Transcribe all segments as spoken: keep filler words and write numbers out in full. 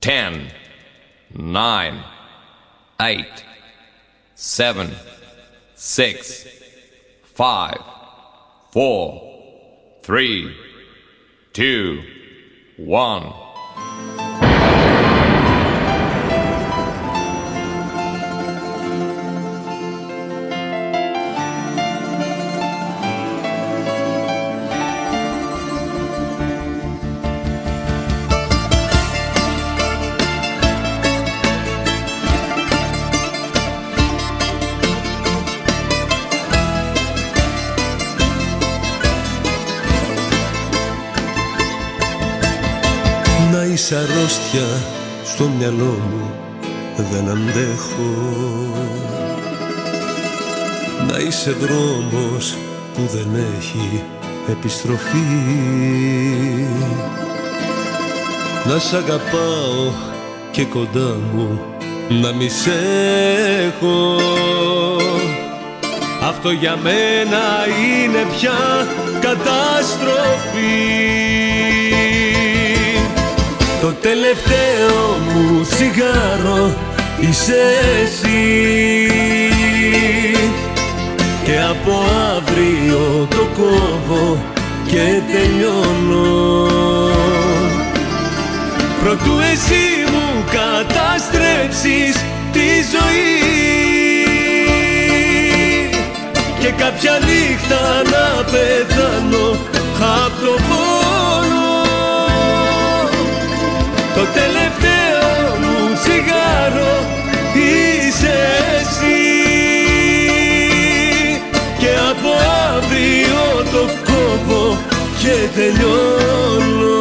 ten, nine, eight, seven, six, five, four, three, two, one. Να είσαι αρρώστια στο μυαλό μου, δεν αντέχω. Να είσαι δρόμος που δεν έχει επιστροφή. Να σ' αγαπάω και κοντά μου να μη σ' έχω. Αυτό για μένα είναι πια καταστροφή. Το τελευταίο μου τσιγάρο είσαι εσύ και από αύριο το κόβω και τελειώνω. Προτού εσύ μου καταστρέψεις τη ζωή και κάποια νύχτα να πεθάνω απ' το πόνο. Το τελευταίο μου τσιγάρο είσαι εσύ και από αύριο το κόβω και τελειώνω.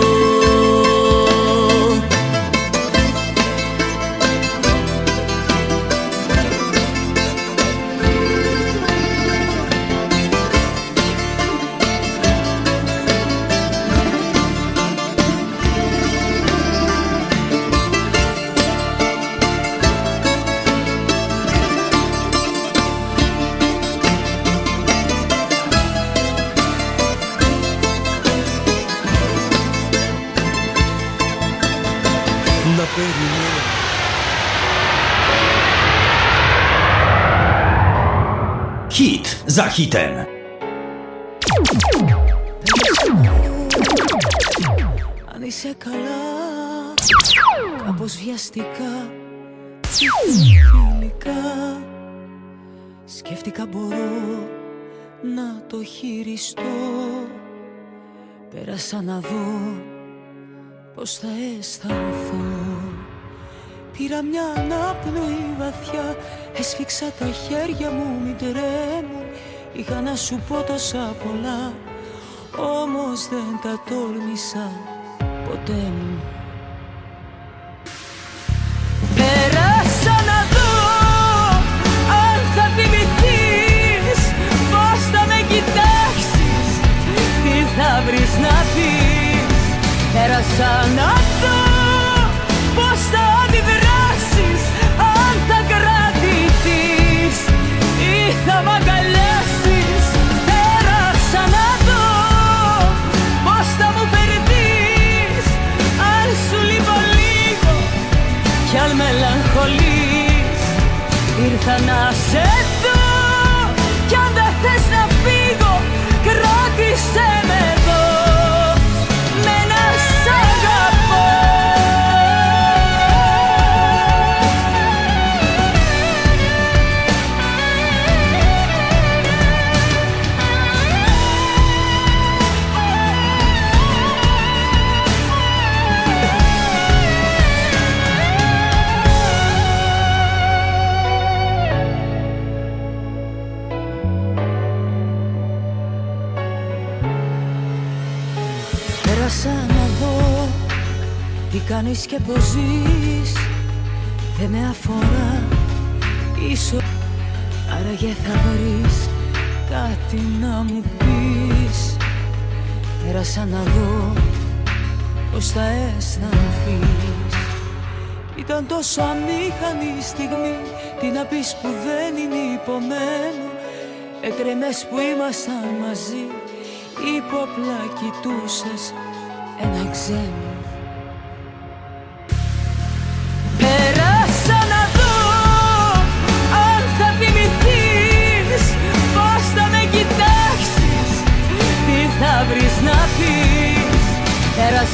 Hit za hitem. Αν είσαι καλά, κάπως βιαστικά, φιλικά, σκέφτηκα μπορώ να το χειριστώ. Πέρασα να δω πως θα αισθανθώ. Πήρα μια ανάπνοη βαθιά, έσφιξα τα χέρια μου μην τρέμουν. Είχα να σου πω τόσα πολλά, όμως δεν τα τόλμησα ποτέ μου. Πέρασα να δω αν θα θυμηθείς, πώς θα με κοιτάξεις, τι θα βρεις να πεις. Πέρασα να δω πώς θα αντιδράσεις, αν θα κρατηθείς ή θα μ' αγκαλιάσεις. Πέρασα να δω πώς θα μου φερθείς, αν σου λείπω λίγο κι αν μελαγχολείς. Ήρθα να σε δω κι αν δεν θες να φύγω, κράτησέ με εδώ με να σ' αγαπώ. Πέρασα να δω τι κάνεις και πως ζεις, δεν με αφορά ίσως, άραγε θα βρεις κάτι να μου πεις. Πέρασα να δω πως θα αισθανθείς. Ήταν τόσο αμήχανη η στιγμή, τι να πεις που δεν είναι υπομένο. Έτρεμες που ήμασταν μαζί, υπόπλα κοιτούσες ένα ξένο.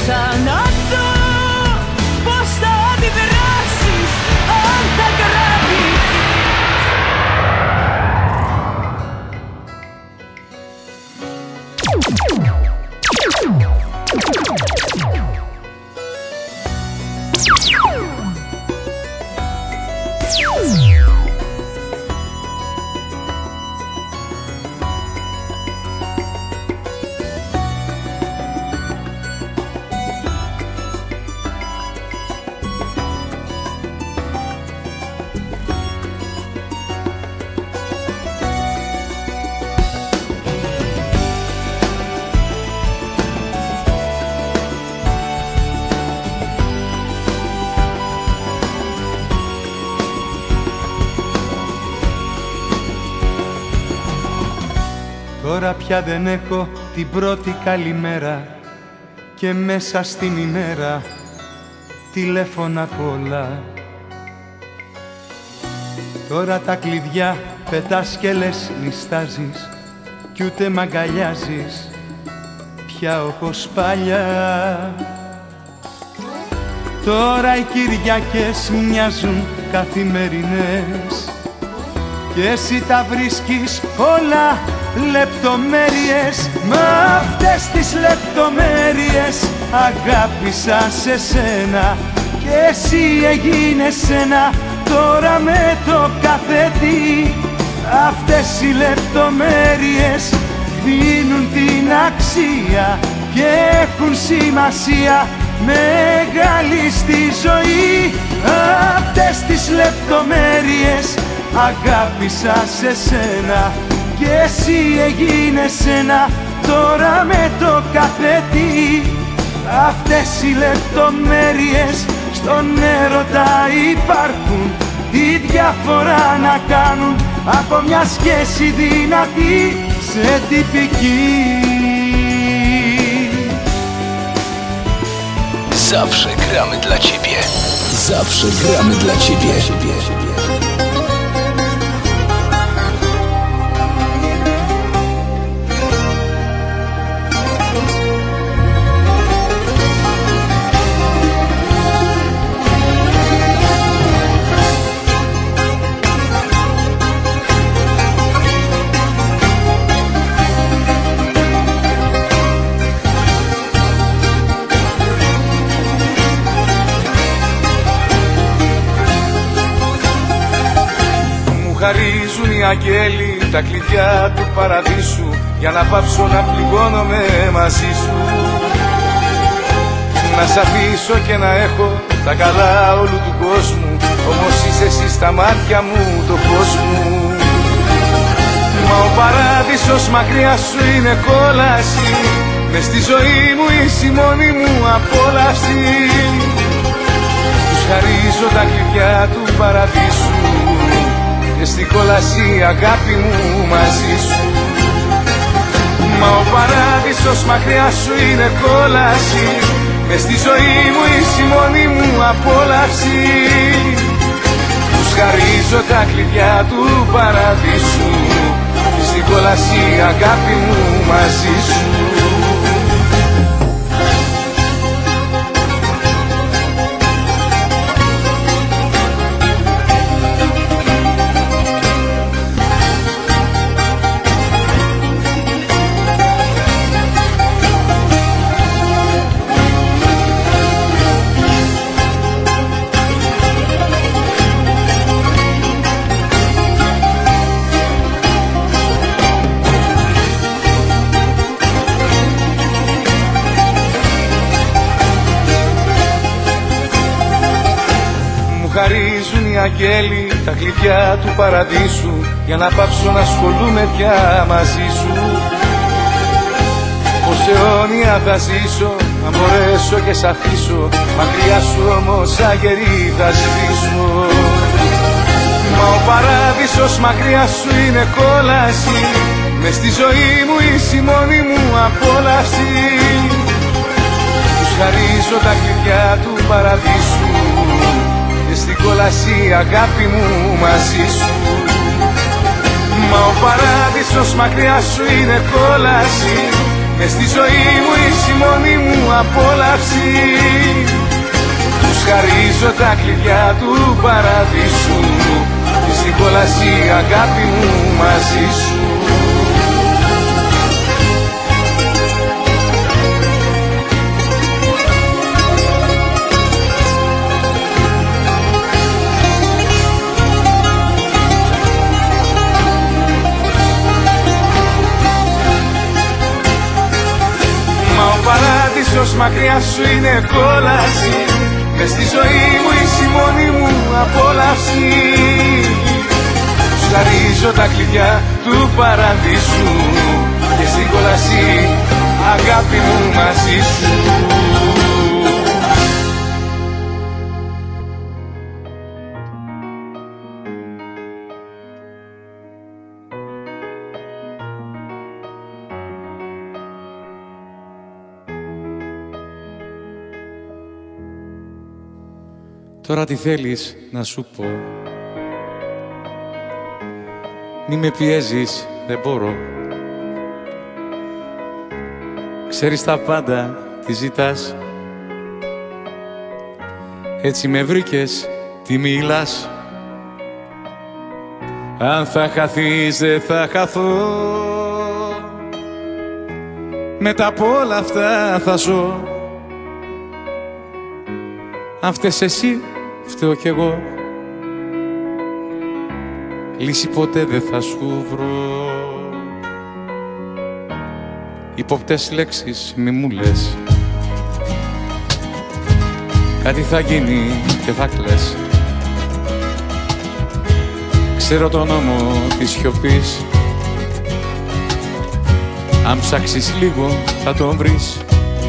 Άρχισα να δω πως θα αντιδράσεις αν τα γράφεις. Τώρα πια δεν έχω την πρώτη καλημέρα και μέσα στην ημέρα τηλέφωνα πολλά. Τώρα τα κλειδιά πετάς και λες νιστάζεις κι ούτε μ' αγκαλιάζεις πια όπως παλιά. Τώρα οι Κυριακές μοιάζουν καθημερινές και εσύ τα βρίσκεις όλα λεπτομέρειες. Μ' αυτές τις λεπτομέρειες αγάπησα σε σένα και εσύ έγινες ένα τώρα με το κάθε τι. Αυτές οι λεπτομέρειες δίνουν την αξία και έχουν σημασία μεγάλη στη ζωή. Αυτές τις λεπτομέρειες αγάπησα σε σένα και εσύ έγινες ένα τώρα με το κάθε τι. Αυτές οι λεπτομέρειες στον έρωτα υπάρχουν, τη διαφορά να κάνουν από μια σχέση δυνατή σε τυπική. Zawsze gramy dla ciebie. Zawsze gramy dla ciebie. Χαρίζουν οι αγγέλοι τα κλειδιά του παραδείσου για να πάψω να πληγώνομαι μαζί σου. Να σ' αφήσω και να έχω τα καλά όλου του κόσμου, όμως είσαι εσύ στα μάτια μου το φως μου. Μα ο παράδεισος μακριά σου είναι κόλαση, μες στη ζωή μου είσαι η μόνη μου απόλαυση. Τους χαρίζω τα κλειδιά του παραδείσου και στην κόλαση αγάπη μου μαζί σου. Μα ο παράδεισος μακριά σου είναι κόλαση, μες στη ζωή μου είσαι η μόνη μου απόλαυση. Τους χαρίζω τα κλειδιά του παραδείσου και στην κόλαση αγάπη μου μαζί σου. Χαρίζουν οι αγγέλοι τα κλειδιά του παραδείσου για να πάψω να ασχολούμαι πια μαζί σου. Πως αιώνια θα ζήσω αν μπορέσω και σ' αφήσω, μακριά σου όμως αγερή θα σβήσω. Μα ο παράδεισος μακριά σου είναι κόλαση, μες στη ζωή μου είσαι η μόνη μου απόλαυση. Τους χαρίζω τα κλειδιά του παραδείσου και στην κόλαση αγάπη μου μαζί σου. Μα ο παράδεισος μακριά σου είναι κόλαση, μες στη ζωή μου είσαι η μόνη μου απόλαυση. Τους χαρίζω τα κλειδιά του παραδείσου και στην κόλαση αγάπη μου μαζί σου. Παράδεισος μακριά σου είναι κόλαση, μες στη ζωή μου είσαι η μόνη μου απόλαυση. Τους χαρίζω τα κλειδιά του παραδείσου και στην κόλαση αγάπη μου μαζί σου. Τώρα τι θέλεις να σου πω? Μη με πιέζεις, δεν μπορώ. Ξέρεις τα πάντα, τι ζητάς. Έτσι με βρήκες, τι μιλάς. Αν θα χαθείς, δεν θα χαθώ. Μετά από όλα αυτά θα ζω. Αν φταίς εσύ, φταίω κι εγώ. Λύση ποτέ δεν θα σου βρω. Υποπτές λέξεις μη μου λες. Κάτι θα γίνει και θα κλαις. Ξέρω τον νόμο της σιωπής. Αν ψάξεις λίγο θα τον βρεις.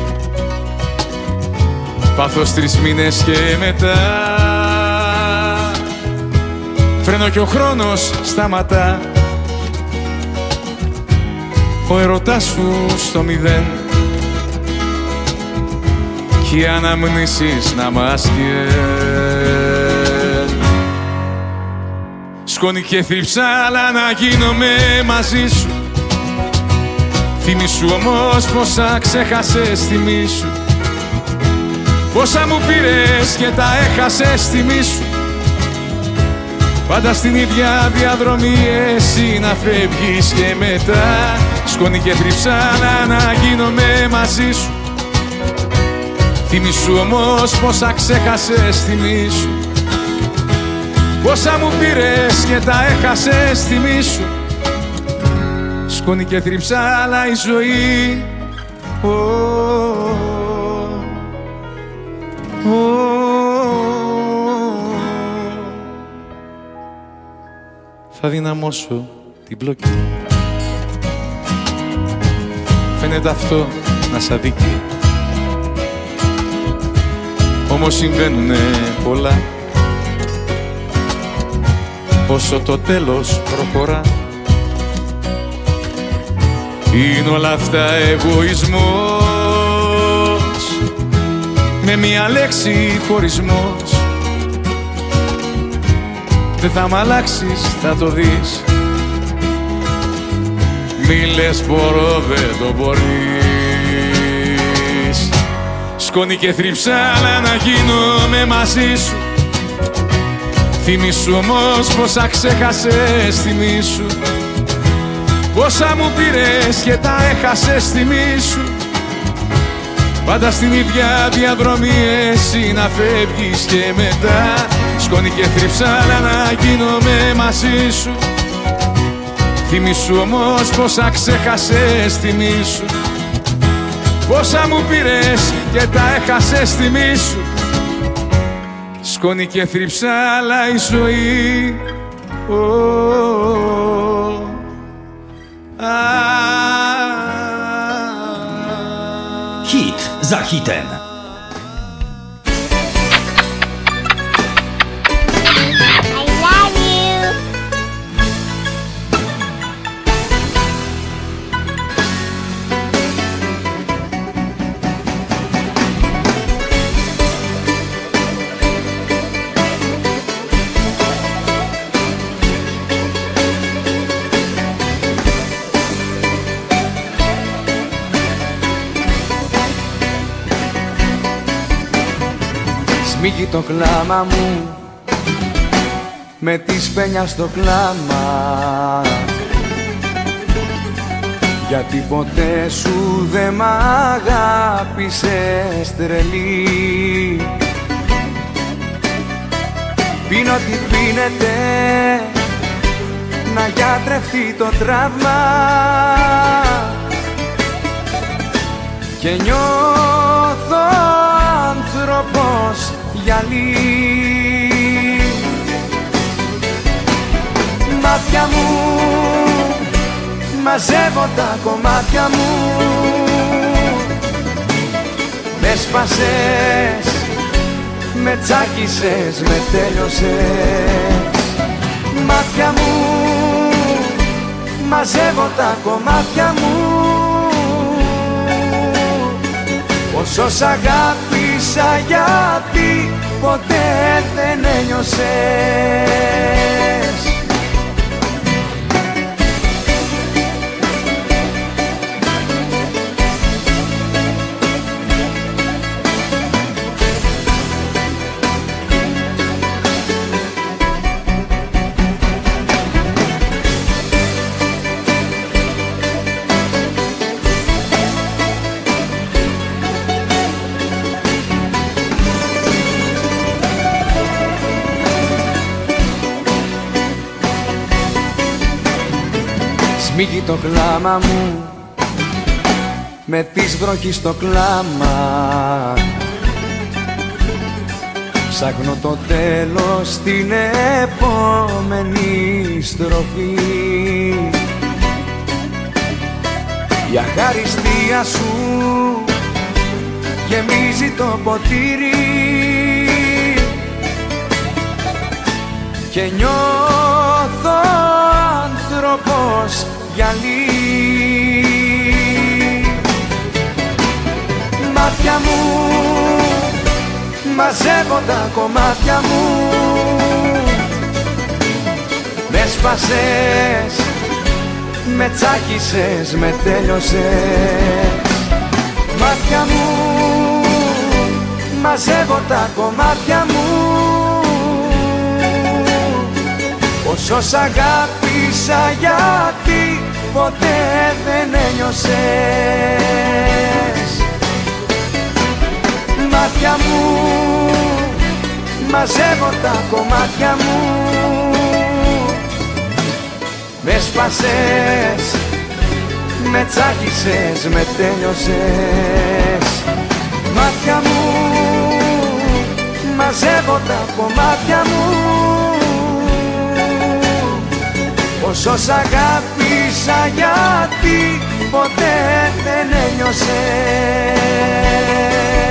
Πάθος τρεις μήνες και μετά φρένω κι ο χρόνος σταματά. Ο ερωτάς σου στο μηδέν κι οι αναμνήσεις να μας καίν. Σκόνη και θρυψάλα να γίνομαι μαζί σου. Θυμήσου όμως πόσα ξέχασες τιμή σου. Πόσα μου πήρες και τα έχασες τιμή σου. Πάντα στην ίδια διαδρομή εσύ να φεύγεις και μετά. Σκόνη και θρυψάλα να γίνομαι μαζί σου. Θυμήσου όμως πόσα ξέχασες τιμή σου. Πόσα μου πήρες και τα έχασες τιμή σου. Σκόνη και θρυψάλα η ζωή. Oh, oh, oh. Θα δυναμώσω την πλοκή. Φαίνεται αυτό να σ' αδικεί. Όμως συμβαίνουνε πολλά. Όσο το τέλος προχωρά. Είναι όλα αυτά εγωισμός. Με μία λέξη χωρισμός. Δεν θα μ' αλλάξεις, θα το δεις. Μη λες μπορώ, δεν το μπορείς. Σκόνη και θρυψάλα να γίνομαι μαζί σου. Θυμήσου όμως πόσα ξέχασες τιμή σου. Πόσα μου πήρες και τα έχασες τιμή σου. Πάντα στην ίδια διαδρομή εσύ να φεύγεις και μετά. Σκόνη και θρυψάλα να γίνομαι μαζί σου. Θυμήσου όμως πόσα ξέχασες τιμή σου. Πόσα μου πήρες και τα έχασες τιμή σου. Σκόνη και θρυψάλα η ζωή. Oh, oh, ah. Hit za hitem. Σμίγει το κλάμα μου με τη σπένια στο κλάμα, γιατί ποτέ σου δε μ' αγάπησες τρελή. Πίνω τι πίνεται να γιατρευτεί το τραύμα και νιώθω άνθρωπος γυαλί. Μάτια μου, μαζεύω τα κομμάτια μου, με σπάσες, με τσάκισες, με τέλειωσες. Μάτια μου, μαζεύω τα κομμάτια μου, όσο σ' αγάπησα γιατί ποτέ δεν ένιωσες. Σμίγει το κλάμα μου με της βροχής στο κλάμα, ψάχνω το τέλος στην επόμενη στροφή. Η αχαριστία σου γεμίζει το ποτήρι και νιώθω άνθρωπος γυαλί. Μάτια μου, μαζεύω τα κομμάτια μου, με σπάσες, με τσάκισες, με τέλειωσες. Μάτια μου, μαζεύω τα κομμάτια μου, όσο σ' αγάπησα γιατί ποτέ δεν ένιωσες. Μάτια μου, μαζεύω τα κομμάτια μου, με σπάσες, με τσάκισες, με τέλειωσες. Μάτια μου, μαζεύω τα κομμάτια μου, όσο σ' αγάπησα γιατί ποτέ δεν ένιωσες.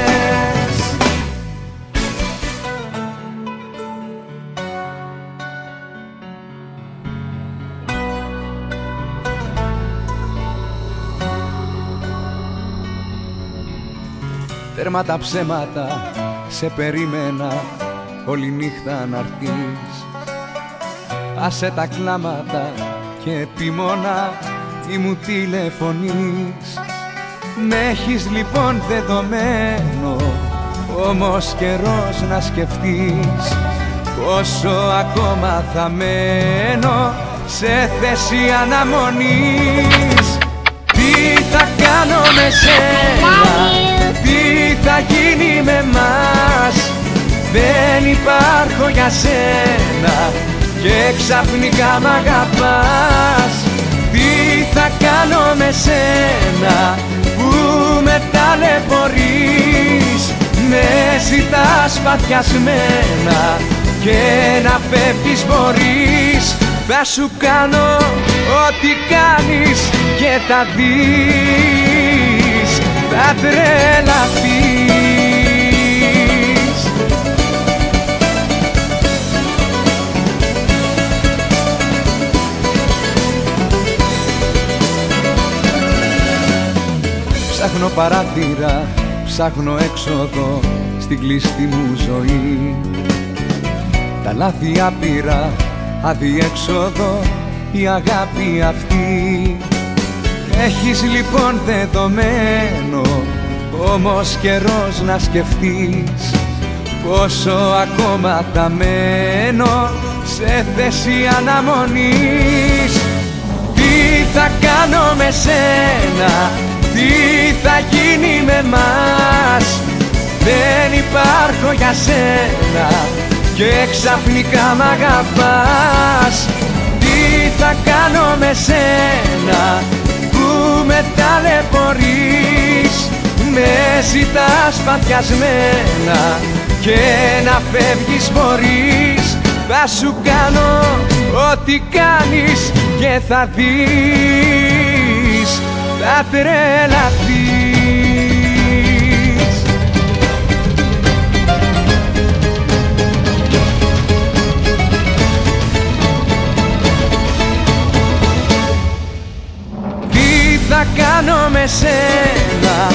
Τέρμα τα ψέματα, σε περίμενα όλη νύχτα να'ρθείς. Άσε τα κλάματα και επίμονα ή μου τηλεφωνείς. Με έχεις λοιπόν δεδομένο, όμως καιρός να σκεφτείς πόσο ακόμα θα μένω σε θέση αναμονής. Τι θα κάνω με σένα, τι θα γίνει με μας, δεν υπάρχω για σένα και ξαφνικά μ' αγαπάς. Τι θα κάνω με σένα που με ταλαιπωρείς, με ζητάς παθιασμένα και να φεύγεις μπορείς. Θα σου κάνω ό,τι κάνεις και θα δεις, θα τρελαθείς. Ψάχνω παράθυρα, ψάχνω έξοδο στην κλειστή μου ζωή. Τα λάθη άπειρα, αδιέξοδο η αγάπη αυτή. Έχεις λοιπόν δεδομένο, όμως καιρός να σκεφτείς πόσο ακόμα θα μένω σε θέση αναμονής. Τι θα κάνω με σένα, τι θα γίνει με μας, δεν υπάρχω για σένα και ξαφνικά μ' αγαπάς. Τι θα κάνω με σένα που με ταλαιπωρείς, με ζητάς παθιασμένα και να φεύγεις μπορείς. Θα σου κάνω ό,τι κάνεις και θα δεις, θα τρελαθείς. Τι θα κάνω με σένα,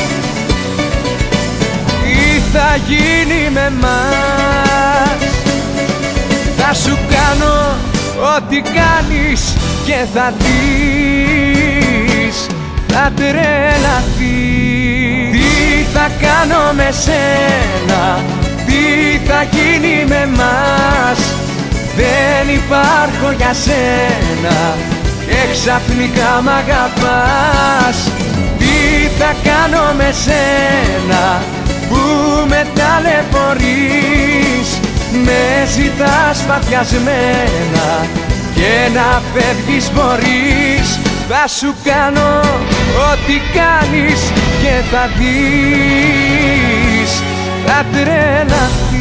τι θα γίνει με μας, θα σου κάνω ό,τι κάνεις και θα δεις, θα τρελαθείς. Τι θα κάνω με σένα, τι θα γίνει με μας, δεν υπάρχω για σένα και ξαφνικά μ' αγαπάς. Τι θα κάνω με σένα που με ταλαιπωρείς, με ζητάς παθιασμένα και να φεύγεις μπορείς. Θα σου κάνω ό,τι κάνεις και θα δεις, θα τρελαθείς.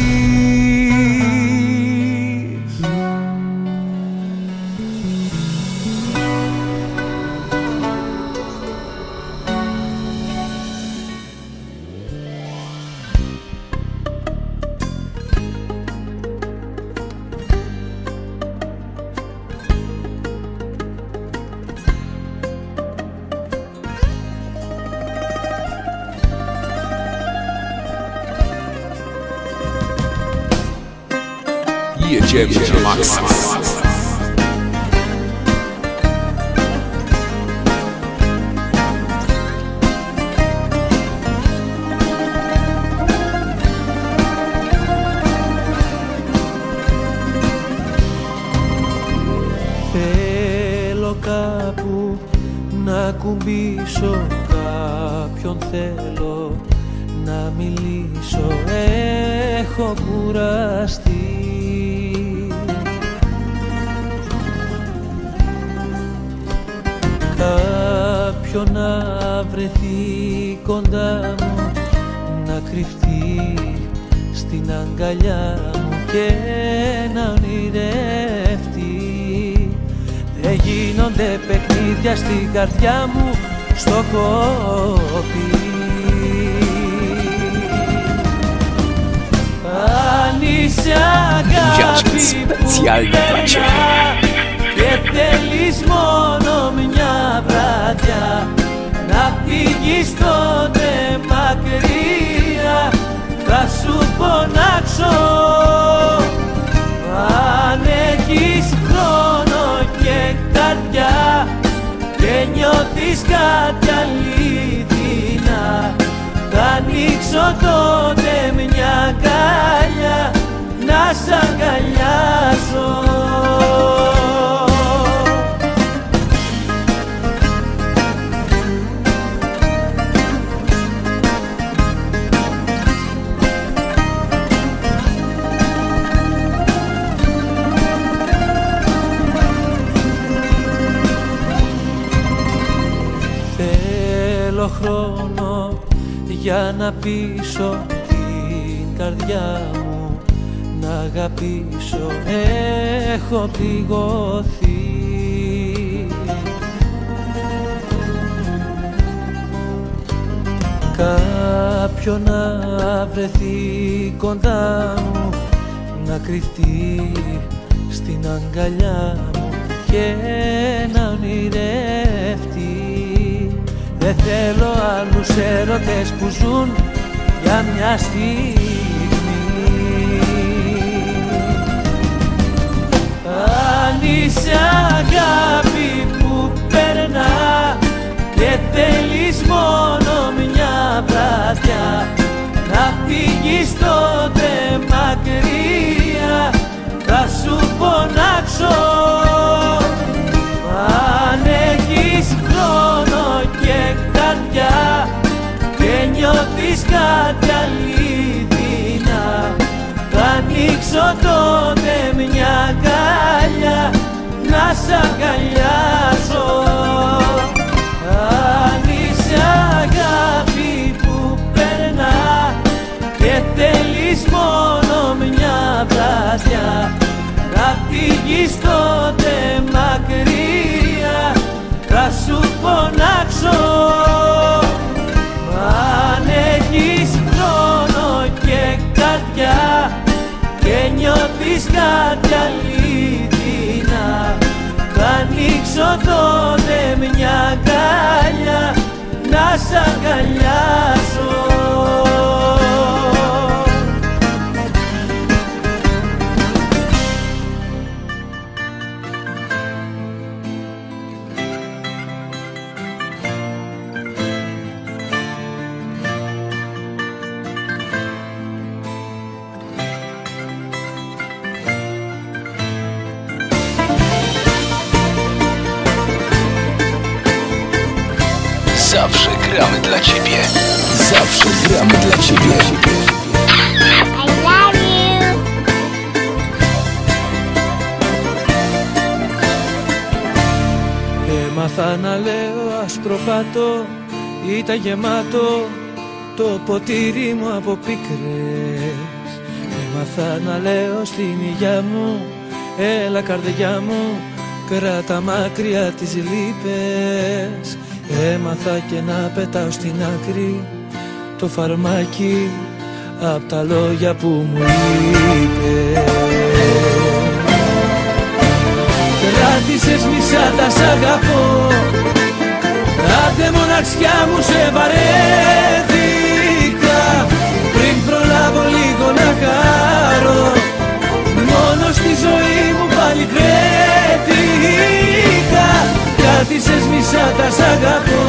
Jedziemy na maksa. Θέλω κάπου να κουμπίσω, κάποιον θέλω να μιλήσω, έχω κουραστεί. Κάποιον να βρεθεί κοντά μου, να κρυφτεί στην αγκαλιά μου και να ονειρευτεί. Δεν γίνονται παιχνίδια στην καρδιά μου στο κόπι. Αν είσαι αγάπη που περνά και θέλεις μόνο μια βράδια να φύγεις τότε μακριά, θα σου φωνάξω. Αν έχεις χρόνο και καρδιά και νιώθεις κάτι αλήθινα, θα ανοίξω τότε μια αγκάλια να σ' αγκαλιάσω. Χρόνο για να πείσω την καρδιά μου να αγαπήσω, έχω πληγωθεί. Κάποιον να βρεθεί κοντά μου, να κρυφτεί στην αγκαλιά μου και να ονειρευτεί. Δεν θέλω άλλους έρωτες που ζουν για μια στιγμή. Αν είσαι αγάπη που περνά και θέλεις μόνο μια βράδια να φύγεις τότε μακριά, τότε μια αγκάλια να σ' αγκαλιάσω. Αν είσαι αγάπη που περνά και θέλεις μόνο μια βραδιά να φύγεις τότε μακριά, θα σου φωνάξω. Αν έχεις χρόνο και καρδιά και νιώθεις κάτι αλήθινα, θα ανοίξω τότε μια αγκάλια να σ' αγκαλιάσω. Zawsze gramy dla Ciebie. Zawsze gramy dla Ciebie. I love you. Έμαθα να λέω ασπροπάτο, ήταν γεμάτο το ποτήρι μου από πίκρες. Έμαθα να λέω στην υγειά μου, έλα καρδιά μου, κράτα μακριά τις λύπες. Έμαθα και να πετάω στην άκρη το φαρμάκι απ' τα λόγια που μου είπε. Κράτησες μισά τα σ' αγαπώ, άντε μοναξιά μου σε βαρέθηκα. Πριν προλάβω λίγο να χαρώ, μόνο στη ζωή μου πάλι βρέθηκα. Κράτησες μισά τα σ' αγαπώ,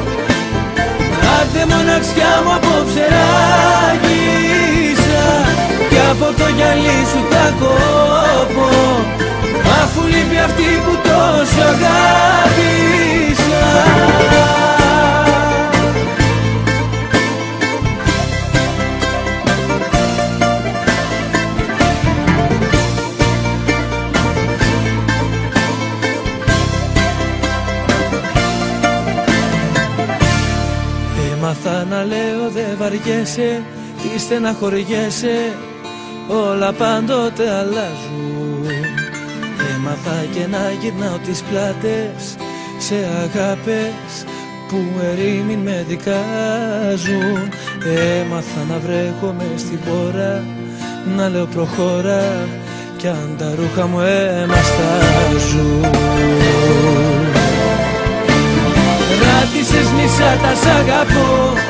άντε μοναξιά μου απόψε ράγισα. Κι από το γυαλί σου θα κόπω, αφού λείπει αυτή που τόσο αγάπησα. Έμαθα να λέω δε βαριέσαι, τι στεναχωριέσαι, όλα πάντοτε αλλάζουν. Έμαθα και να γυρνάω τις πλάτες σε αγάπες που ερήμην με δικάζουν. Έμαθα να βρέχομαι στην πόρα, να λέω προχώρα, κι αν τα ρούχα μου εμαστάζουν. Κράτησες μισά τα σ' αγαπώ,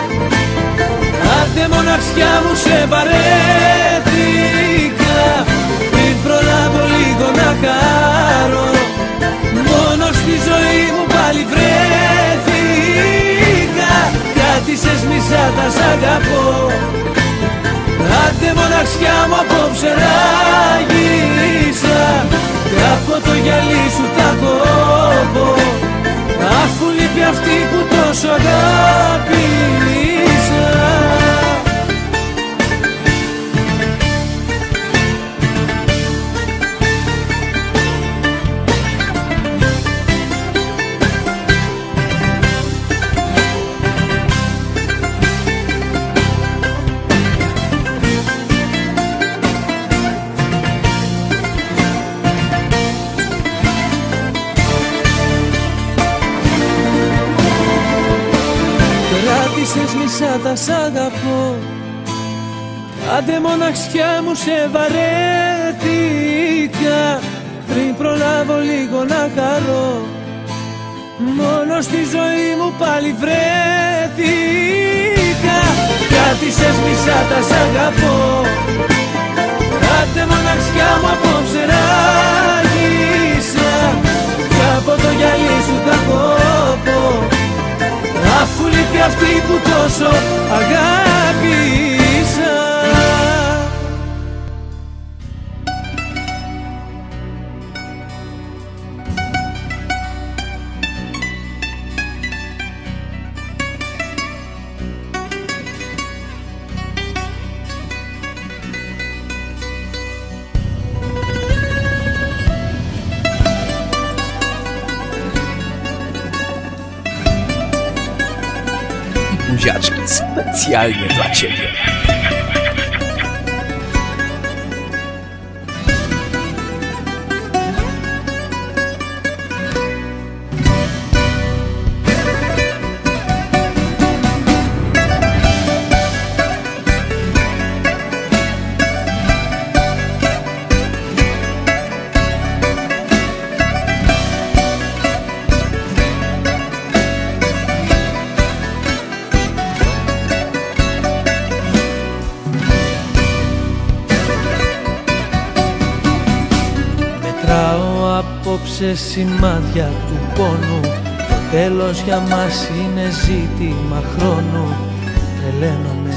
άντε μοναξιά μου σε βαρέθηκα. Πριν προλάβω λίγο να χαρώ, μόνο στη ζωή μου πάλι βρέθηκα. Κράτησες μισά τα σ' αγαπώ, άντε μοναξιά μου απόψε ράγισα. Κι από το γυαλί σου θα κόβω, αφού λείπει αυτή που τόσο αγάπησα. Κράτησες μισά τα σ' αγαπώ, άντε μοναξιά μου σε βαρέθηκα. Πριν προλάβω λίγο να χαρώ, μόνο στη ζωή μου πάλι βρέθηκα. Κράτησες μισά τα σ' αγαπώ, άντε μοναξιά μου απόψε ράγισα. Κι από το γυαλί σου θα κόπω, αφού λείπει αυτή που τόσο αγάπησα. buziaczki specjalnie dla ciebie. Σε σημάδια του πόνου, το τέλος για μας είναι ζήτημα χρόνου. Τρελαίνομαι.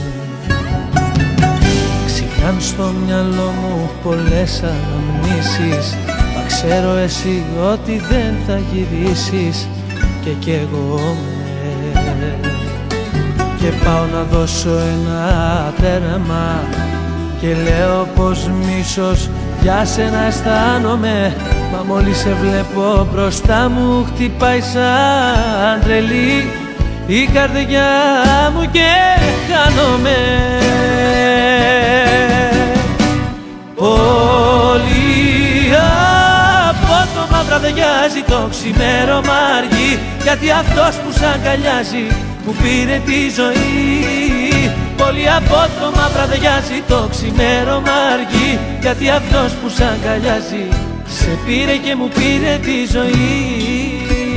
Ξυπνάν στο μυαλό μου πολλές αναμνήσεις, μα ξέρω εσύ ότι δεν θα γυρίσεις και καίγομαι. Και πάω να δώσω ένα τέρμα και λέω πως μίσος για σένα αισθάνομαι. Μα μόλις σε βλέπω μπροστά μου χτυπάει σαν τρελή η καρδιά μου και χάνομαι. Πολύ απότομα βραδιάζει το ξημέρωμα αργεί, γιατί αυτός που σ' αγκαλιάζει μου πήρε τη ζωή. Πολύ απότομα βραδιάζει το ξημέρωμα αργεί, γιατί αυτός που σ' αγκαλιάζει σε πήρε και μου πήρε τη ζωή.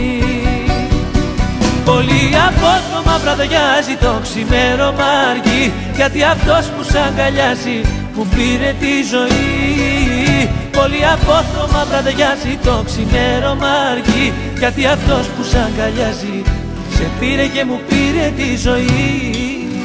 Πολύ απότομα βραδιάζει το ξημέρωμα αργεί, γιατί αυτός που σ' αγκαλιάζει μου πήρε τη ζωή. Πολύ απότομα βραδιάζει το ξημέρωμα αργεί, γιατί αυτός που σ' αγκαλιάζει σε πήρε και μου πήρε τη ζωή.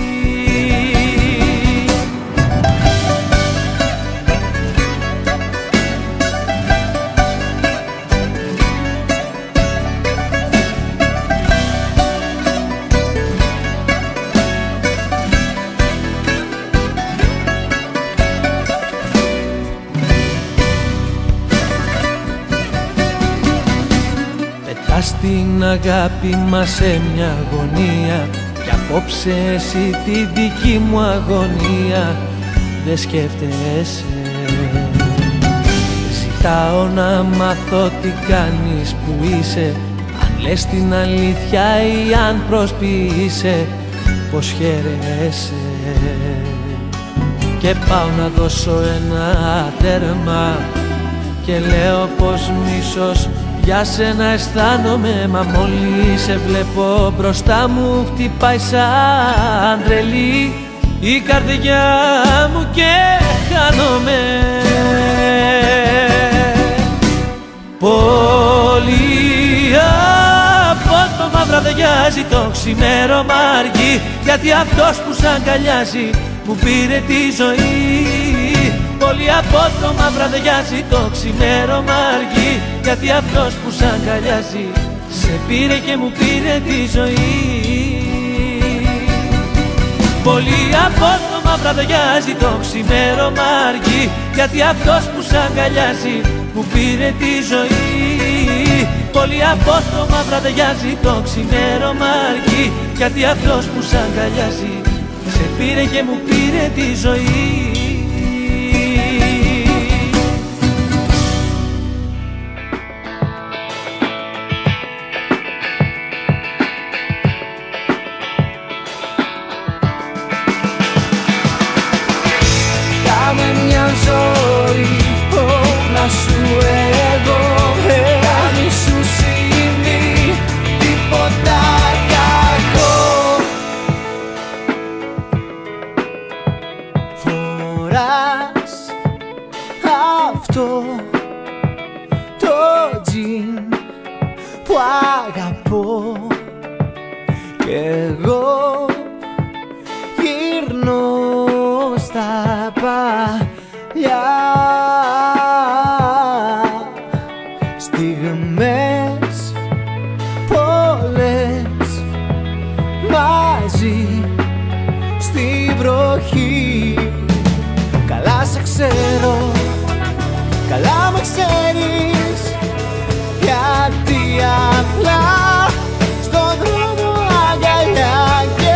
Στην αγάπη μας σε μια αγωνία, κι απόψε εσύ τη δική μου αγωνία δεν σκέφτεσαι. Ζητάω να μάθω τι κάνεις, που είσαι, αν λες την αλήθεια ή αν προσποιείσαι πως χαίρεσαι. Και πάω να δώσω ένα τέρμα και λέω πως μίσος για σένα αισθάνομαι. Μα μόλις σε βλέπω μπροστά μου χτυπάει σαν τρελή η καρδιά μου και χάνομαι. Πολύ απότομα βραδιάζει το ξημέρωμα αργεί, γιατί αυτός που σ' αγκαλιάζει μου πήρε τη ζωή. Πολύ απότομα βραδιάζει το ξημέρωμα αργεί, γιατί αυτός που σ' αγκαλιάζει σε πήρε και μου πήρε τη ζωή. Πολύ απότομα βραδιάζει το ξημέρωμα αργεί, γιατί αυτός που σ' αγκαλιάζει μου πήρε τη ζωή. Πολύ απότομα βραδιάζει το ξημέρωμα αργεί, γιατί αυτός που σ' αγκαλιάζει σε πήρε και μου πήρε τη ζωή. Γιατί απλά στον δρόμο αγκαλιά.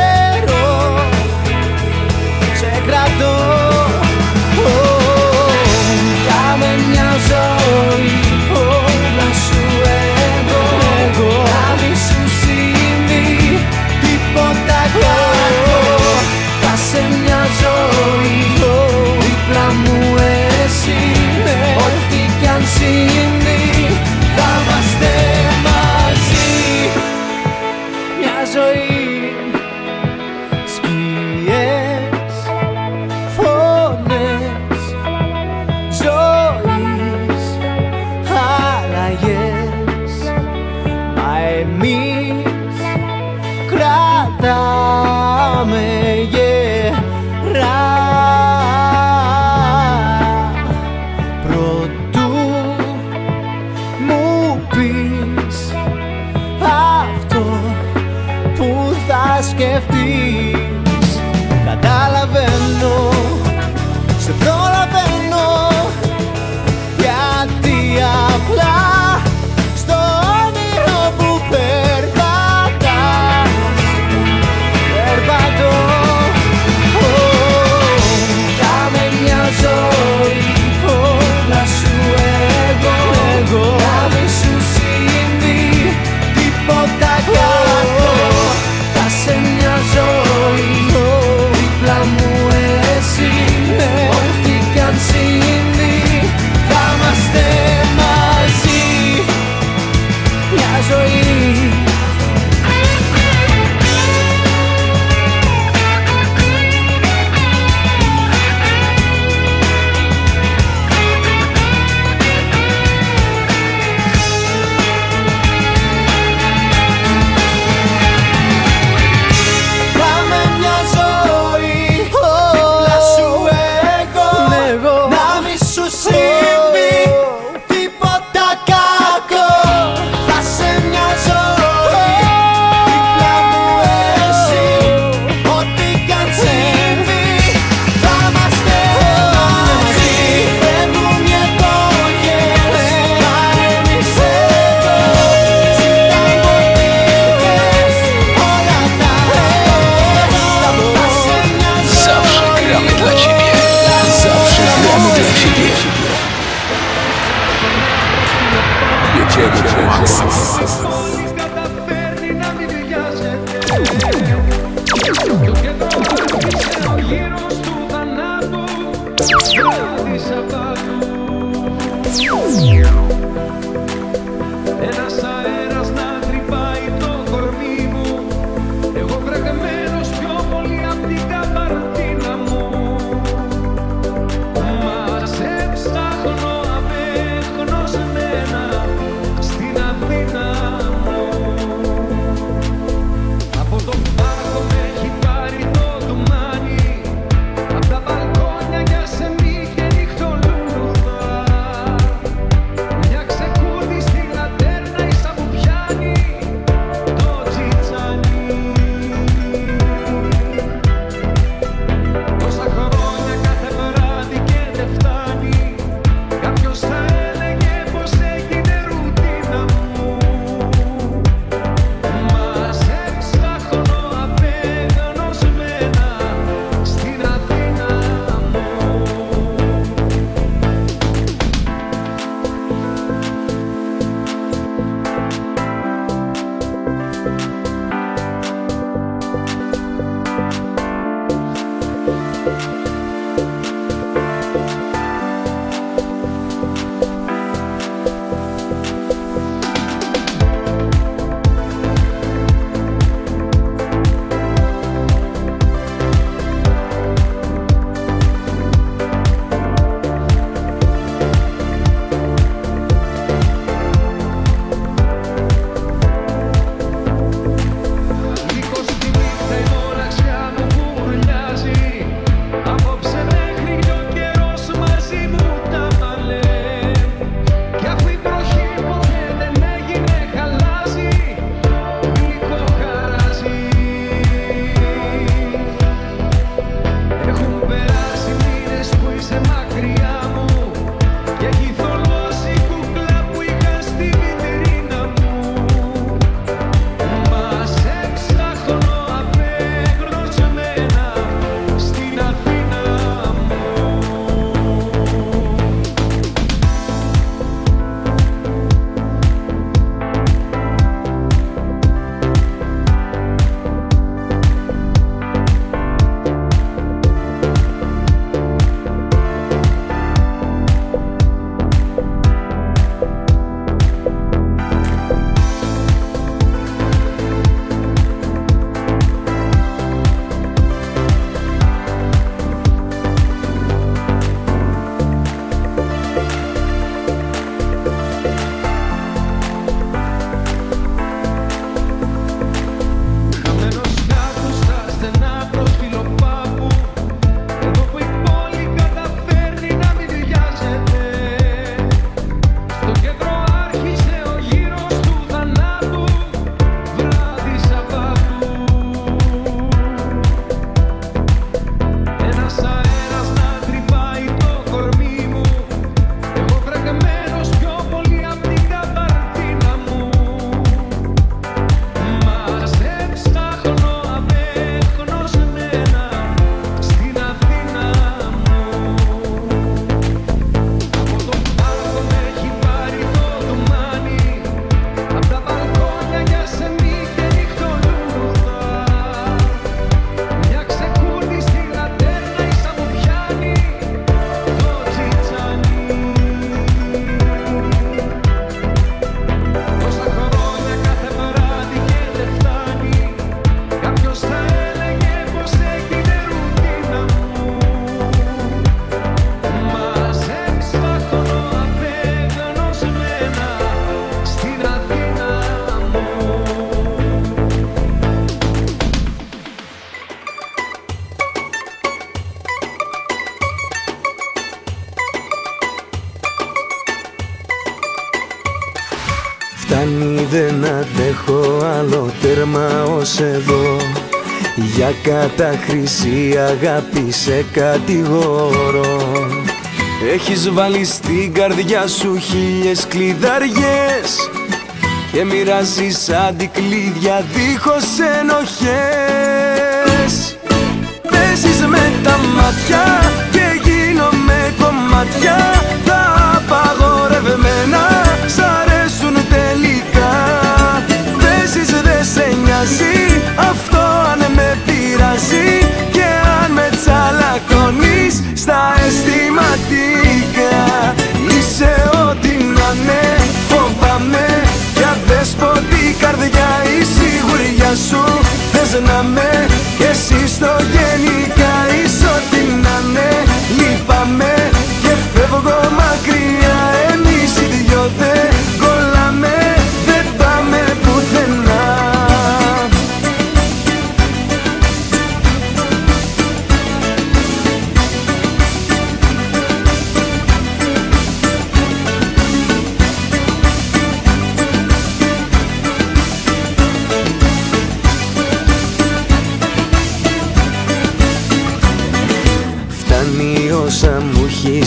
Όλοι καταφέρνει να μην βιάζεται. Το κέντρο άρχισε ο γύρος του θανάτου. Βράδυ Σαββάτου. Ένας αέρας να τρυπάει το κορμί μου. Εγώ βρεγμένος πιο πολύ απ' την καμπαρτίνα μου. Μα σε ψάχνω απεγνωσμένα στην Αθήνα μου. Από το πάρκο με έχει πάρει το ντουμάνι. Απ' τα μπαλκόνια για σε μη και νυχτολούδα. Μια ξεκούρδη στη λατέρνα ίσα που πιάνει το τσιτσάνι. Τόσα χρόνια κάθε βράδυ και δεν φτάνει. Κάποιος θα έλεγε πως έγινε ρουτίνα μου. Μα σε ψάχνω απεγνωσμένα στην Αθήνα μου. Λίγο στη νύχτα η μοναξιά μου κουρλιάζει. Απόψε μέχρι κι ο καιρός μαζί μου τα μαλέ. Κι αφού η βροχή ποτέ δεν έγινε χαλάζει, γλυκό χαράζει. Έχουν περάσει μήνες που είσαι μακριά μου και έχει θολώσει κούκλα που είχα στη βιτρίνα μου. Μα σε ψάχνω απεγνωσμένα στην Αθήνα μου. Χαμένος κάπου στα στενά πρόσφυλο πάπου. Εδώ που η πόλη καταφέρνει να μην βιάζεται. Στο κέντρο άρχισε ο γύρος του θανάτου. Βράδυ Σαββάτου. Ένας αέρας να τρυπάει το κορμί μου. Εγώ βρεγμένος πιο πολύ απ' την καμπαρτίνα μου. Μα σε ψάχνω απεγνωσμένα στην Αθήνα μου. Από το πάρκο με έχει πάρει το ντουμάνι. Απ' τα μπαλκόνια για σε μη και νυχτολούδα. Μια ξεκούρδη στη λατέρνα ίσα που πιάνει το τσιτσάνι. Τόσα χρόνια κάθε βράδυ και δεν φτάνει. Κάποιος θα έλεγε πως έγινε ρουτίνα μου. Μα σε ψάχνω απεγνωσμένα στην Αθήνα μου. Φτάνει, δεν αντέχω άλλο, τέρμα ως εδώ. Για κατάχρηση αγάπη σε κατηγορώ. Έχεις βάλει στην καρδιά σου χίλιες κλειδαριές και μοιράζεις αντικλείδια δίχως ενοχές. Παίζεις με τα μάτια και γίνομαι κομμάτια. Τα απαγορευμένα σ' αρέσουν τελικά.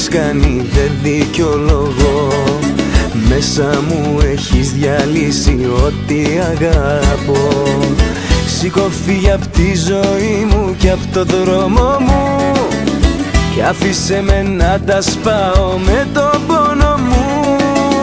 έχεις κάνει δεν δικαιολογώ. Μέσα μου έχεις διαλύσει ό,τι αγαπώ. Σήκω φύγε απ' τη ζωή μου και απ' το δρόμο μου κι άφησε με να τα σπάω με το πόνο μου.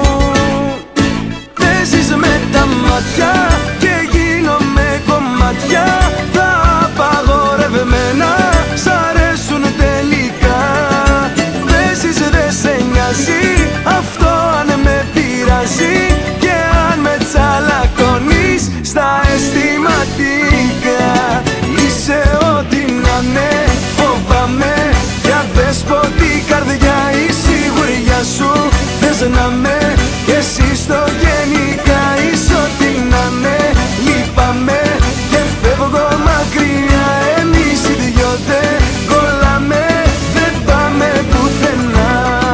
Παίζεις με τα μάτια και γίνομαι κομμάτια. Τα απαγορευμένα σ' αρέσουν τελικά. Παίζεις δε σε νοιάζει αυτό αν με πειράζει και αν με τσαλακώνεις στα αισθηματικά. Είσαι ό,τι να ναι, φοβάμαι για δέσποτη καρδιά. Η σιγουριά σου θες να με κι εσύ στο γενικά. Είσαι ό,τι να ναι, λείπαμε και φεύγω μακριά. Εμείς οι δυο δεν κολλάμε, δεν πάμε πουθενά.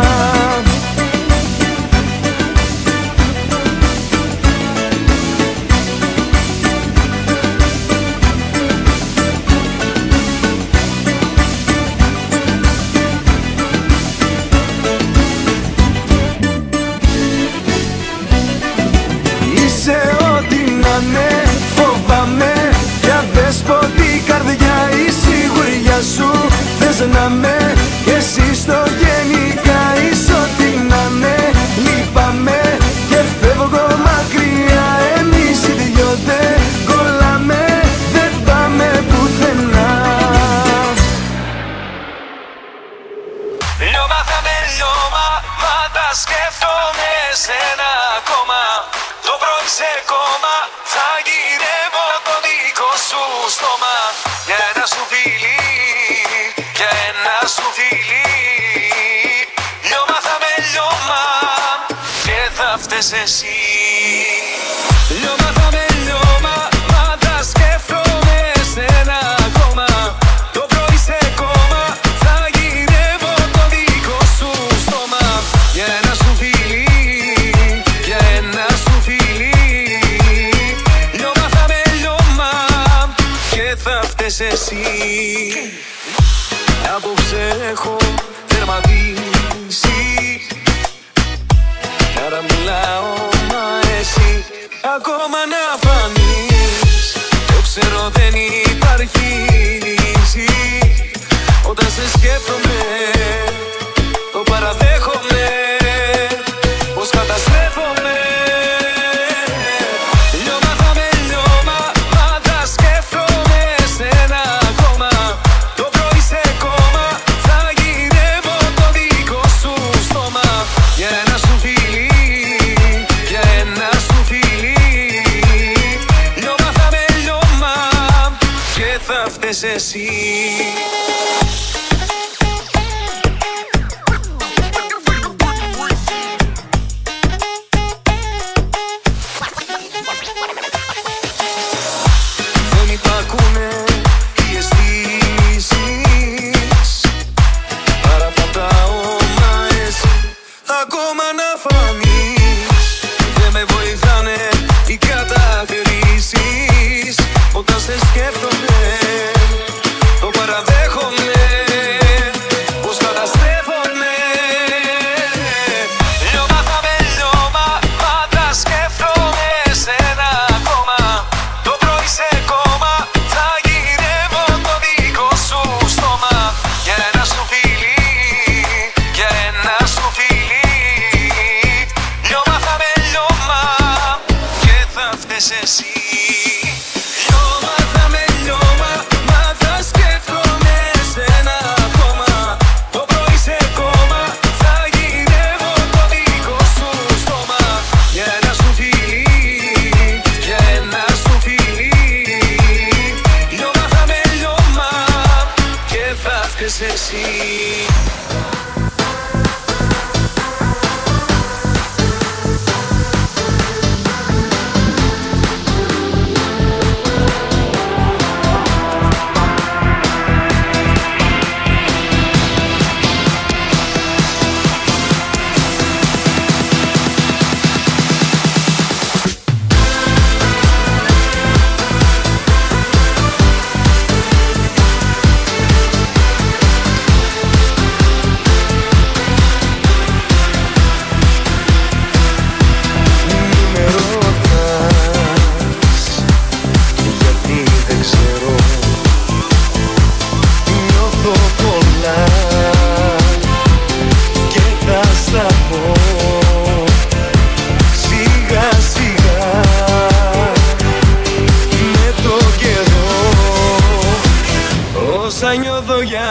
Σου θες να με κι εσύ στο γενικά. Είσαι ό,τι να ναι, λείπαμε και φεύγω μακριά. Εμείς οι δυο δεν κολλάμε, δεν πάμε πουθενά. Λιώμα θα με λιώμα, μα τα σκέφτομαι σένα ακόμα. Το πρωί σε κόμμα θα γυρεύω το δικό σου στόμα. Για ένα σου φιλί, για ένα σου φιλί. Λιώμα θα με λιώμα και θα φταίς εσύ. Λιώμα θα με λιώμα, μα τα σκέφτομαι σένα ακόμα. Το πρωί σε κόμμα θα γυρεύω το δικό σου στόμα. Για ένα σου φιλί, για ένα σου φιλί. Λιώμα θα με λιώμα και θα φταίς εσύ. Απόψε έχω τερματίσει κι άρα μιλάω μα εσύ ακόμα να φανείς. Το ξέρω δεν υπάρχει λύση. Όταν σε σκέφτομαι το παραδέχομαι πως καταστρέφομαι. Λιώμα θα με λιώμα, μα τα σκέφτομαι σένα ακόμα. Το πρωί σε κόμμα θα γυρεύω το δικό σου στόμα. Για ένα σου φιλί, για ένα σου φιλί. Λιώμα θα με λιώμα και θα φταίς εσύ. Δεν υπακούνε οι αισθήσεις, παραπατάω μα εσύ ακόμα να φανείς. Δεν με βοηθάνε οι κατακρίσεις. Όταν σε σκέφτομαι το παραδέχομαι πως καταστρέφομαι. Λιώμα θα με λιώμα, μα τα σκέφτομαι σένα ακόμα. Το πρωί σε κόμμα θα γυρεύω το δικό σου στόμα. Για ένα σου φιλί, για ένα σου φιλί.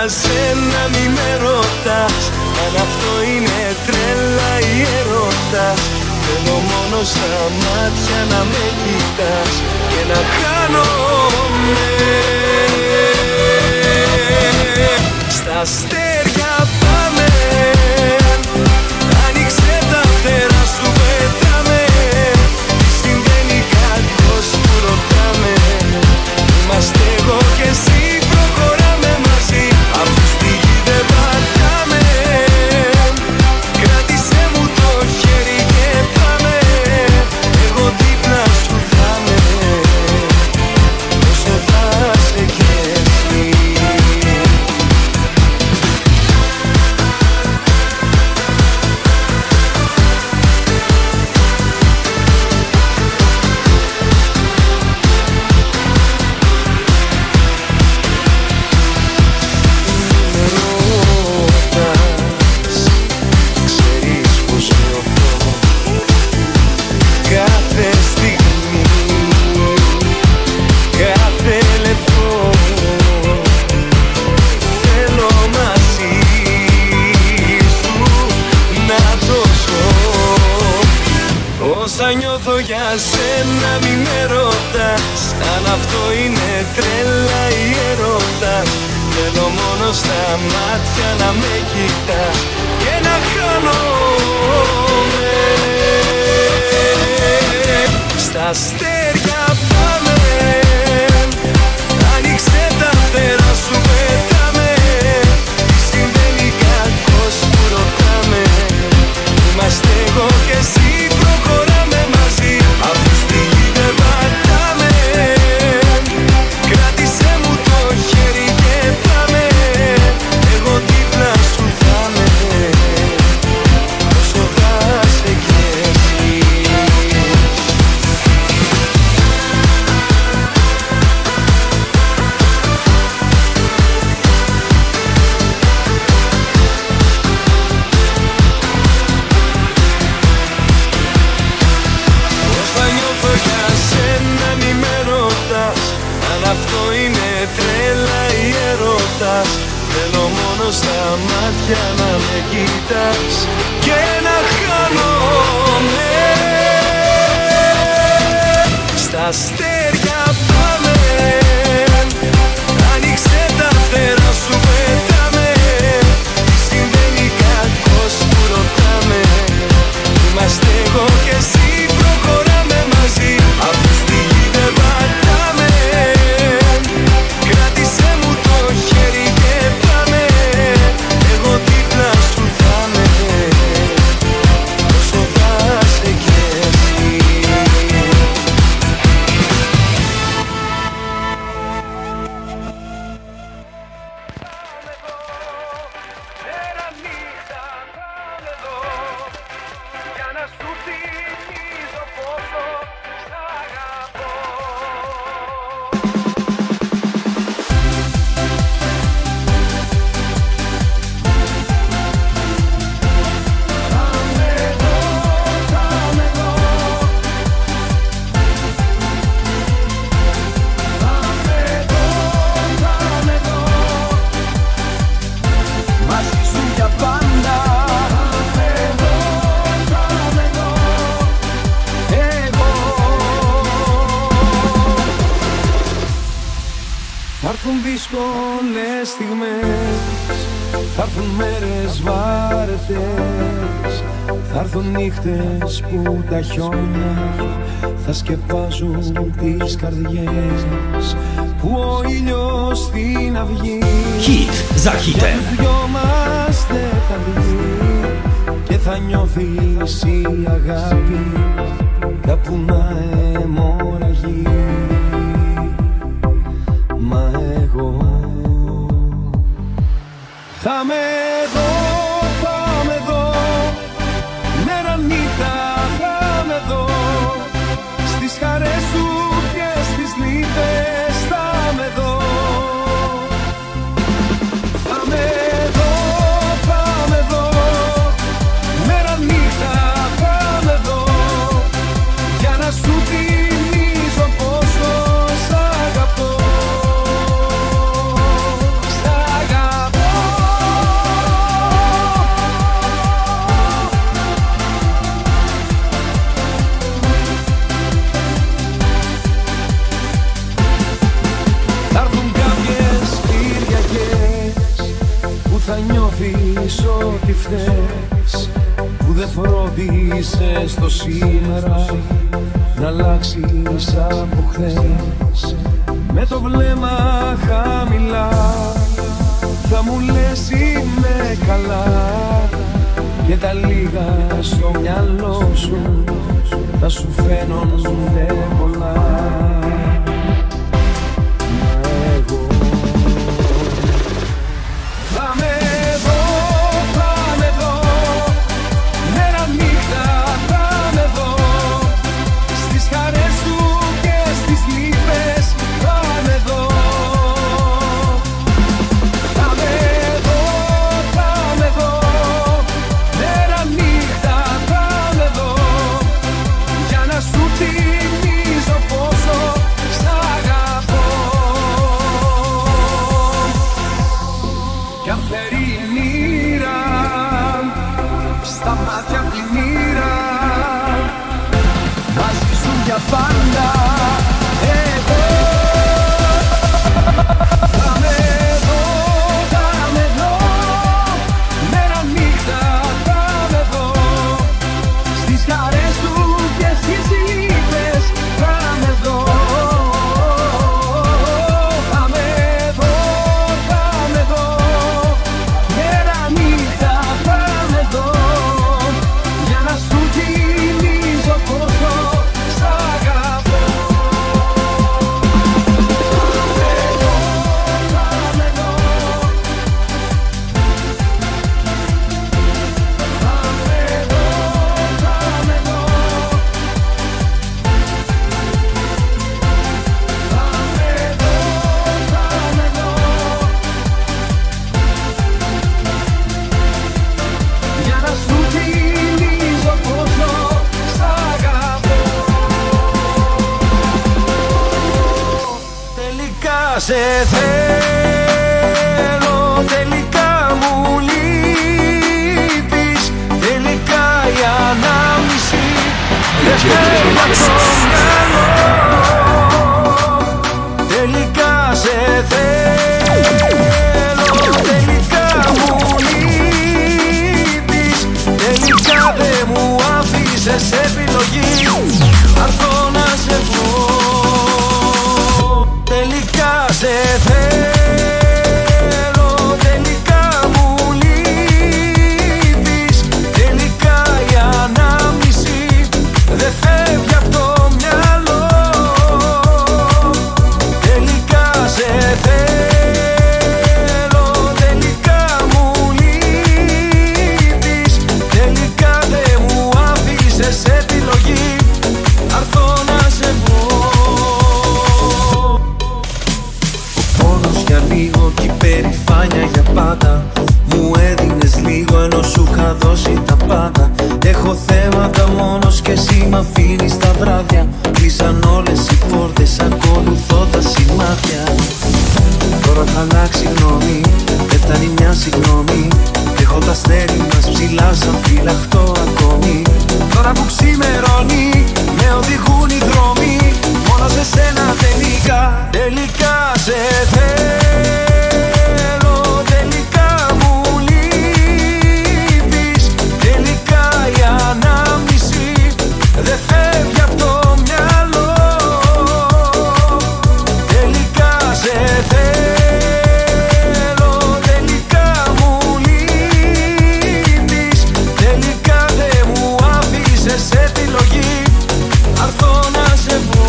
σένα μη με ρωτάς αν αυτό είναι τρέλα ή έρωτας. Θέλω μόνο στα μάτια να με κοιτάς και να χάνομαι. Στα αστέρια πάμε, άνοιξε τα φτερά σου, πέταμε. Τι συμβαίνει κακός που ρωτάμε. Είμαστε εγώ και εσύ, προχωράμε μαζί. Αφού στη γη δεν πατάμε, κράτησε μου το χέρι και πάμε. Εγώ δίπλα σου θα με, όσο θα σε κι εσύ. Όσα νιώθω για σένα μη με ρωτάς αν αυτό είναι τρέλα ή έρωτας. Θέλω μόνο στα μάτια να με κοιτάς και να χάνομαι. Στα αστέρια πάμε, άνοιξε τα φτερά σου, πέταμε. Τι συμβαίνει κακός που ρωτάμε. Είμαστε εγώ και εσύ, προχωράμε μαζί. Αφού στη γη δεν πατάμε, κράτησε μου το χέρι και πάμε. Εγώ δίπλα σου θα με, όσο θα σε κι εσύ. Αυτό είναι τρέλα ή έρωτας. Θέλω μόνο στα μάτια να με κοιτάς και να χάνομαι. Στα αστέρια πάμε, άνοιξε τα φτερά σου, πέταμε. Τι συμβαίνει κακός που ρωτάμε. Είμαστε εγώ και εσύ, προχωράμε μαζί. Αφού στη γη δεν πατάμε, κράτησε μου το χέρι και πάμε. Εγώ δίπλα σου θα με, όσο θα σε κι εσύ. Μέρα νύχτα θα με δω, για να σου θυμίζω πόσο σ' αγαπώ. Μαζί σου για πάντα. Θα έρθουν δύσκολες στιγμές, θα έρθουν μέρες βαρετές, θα έρθουν νύχτες που τα χιόνια θα σκεπάζουν τις καρδιές, που ο ήλιος στην αυγή Hit za hitem. τους δυο μας δεν θα βγει και θα νιώθεις η αγάπη κάπου να αιμορραγεί. Μα εγώ θα με δω, θα με δω, μέρα νύχτα θα με δω, στις χαρές σου και στις λύπες θα με δω. Θα με δω, θα με δω, μέρα νύχτα θα με δω, για να σου φρόντισες το σήμερα να αλλάξεις από χθες. Με το βλέμμα χαμηλά θα μου λες είμαι καλά, και τα λίγα στο μυαλό σου θα σου φαίνονται πολλά. Μα εγώ θα με δω, θα με δω, μέρα νύχτα θα με δω, στις χαρές σου και στις λύπες θα με δω. Θα με δω, θα με δω, μέρα νύχτα θα με δω, για να σου θυμίζω πόσο σ' αγαπώ. Κι αν φέρει η μοίρα στα μάτια πλημμύρα, μαζί σου για πάντα εγώ θα με δω, θα με δω, μέρα νύχτα θα με δω, στις χαρές σου και στις λύπες θα με δω. Θα με δω, θα με δω, μέρα νύχτα θα με δω, για να σου θυμίζω πόσο σ' αγαπώ. Για να σου θυμίζω πόσο σ' αγαπώ. Τελικά σε θέλω, τελικά μου λείπεις, τελικά η ανάμνηση δεν φεύγει απ' το μυαλό. Τελικά σε θέλω, τελικά μου λείπεις, τελικά δεν μου άφησες επιλογή, αρθώ να σε βρω. Τελικά σε θέλω, τελικά μου λείπεις, τελικά η ανάμνηση δεν φεύγει απ' το μυαλό. Τελικά σε θέλω, τελικά μου λείπεις, τελικά δεν μου άφησες επιλογή, αρθώ να σε βρω. Ο πόνος για λίγο και η περηφάνεια για πάντα, μου έδινες λίγο ενώ σου είχα δώσει τα πάντα. Έχω θέματα μόνος και εσύ μ' αφήνεις τα βράδια, κλείσαν όλες οι πόρτες, ακολουθώ τα σημάδια. Τώρα θα αλλάξει γνώμη, δεν φτάνει μια συγγνώμη, έχω τα αστέρι μας ψηλά σαν φυλαχτό ακόμη. Τώρα που ξημερώνει με οδηγούν οι δρόμοι, μόνο σε σένα τελικά, τελικά σε θέλω, τελικά μου λείπεις, τελικά η ανάμνηση δεν φεύγει απ' το μυαλό. Τελικά σε θέλω, τελικά μου λείπεις, τελικά δεν μου άφησες επιλογή, αρθώ να σε βρω.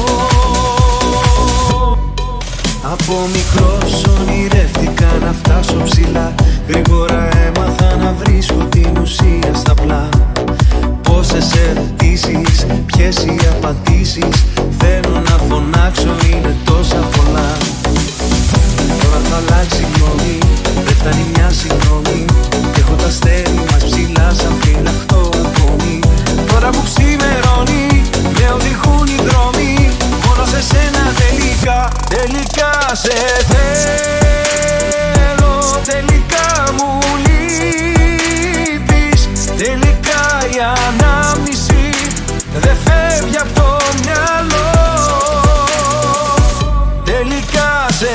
Από μικρός ονειρεύτηκα να φτάσω ψηλά, γρήγορα έμαθα να βρίσκω την ουσία στα πλά. Πόσες ερωτήσεις, ποιες οι απαντήσεις, θέλω να φωνάξω, είναι τόσα πολλά. Τώρα θα αλλάξει γνώμη, δεν φτάνει μια συγγνώμη, έχω τα αστέρι μας ψηλά σαν φυλαχτό ακόμη. Τώρα που ξημερώνει με οδηγούν οι δρόμοι, μόνο σε σένα τελικά, τελικά σε θέλω, τελικά μου λείπεις, τελικά η ανάμνηση δεν φεύγει απ' το μυαλό. Τελικά σε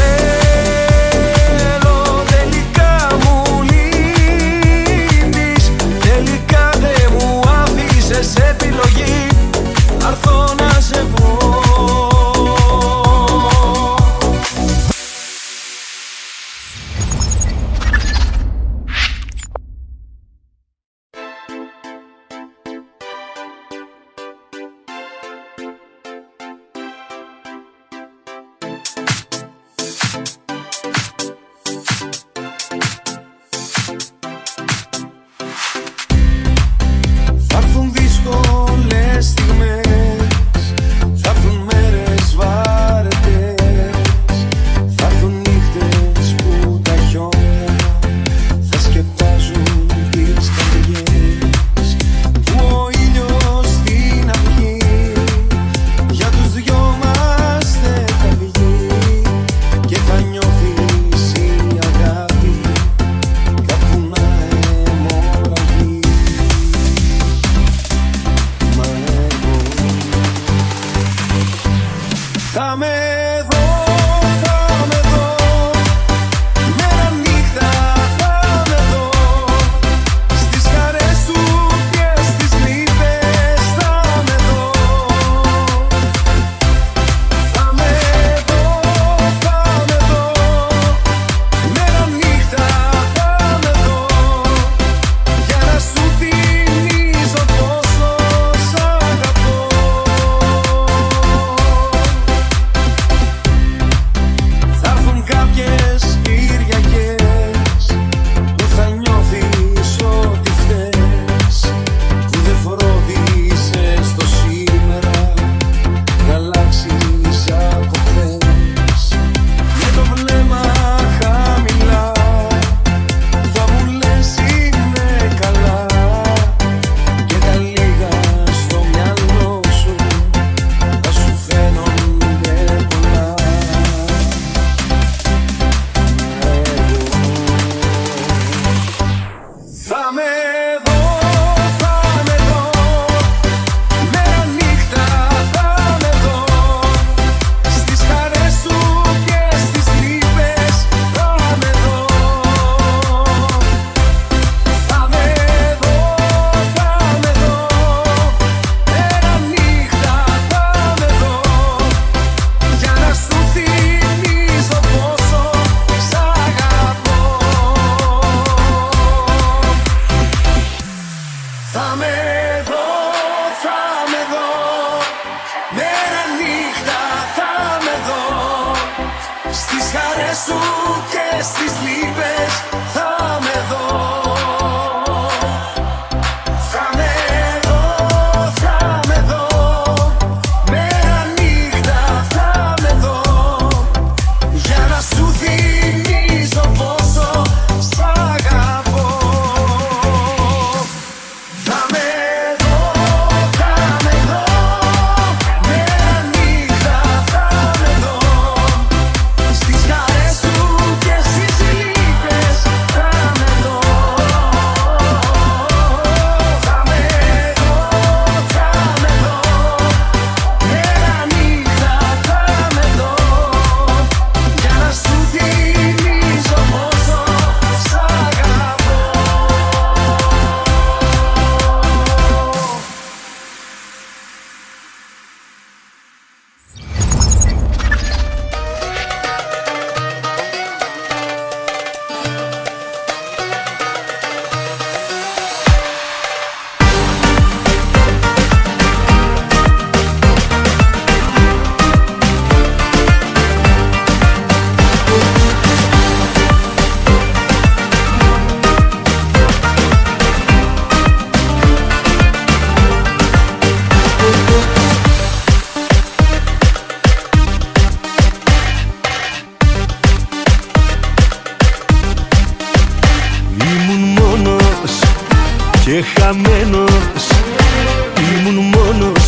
θέλω, τελικά μου λείπεις, τελικά δεν μου άφησες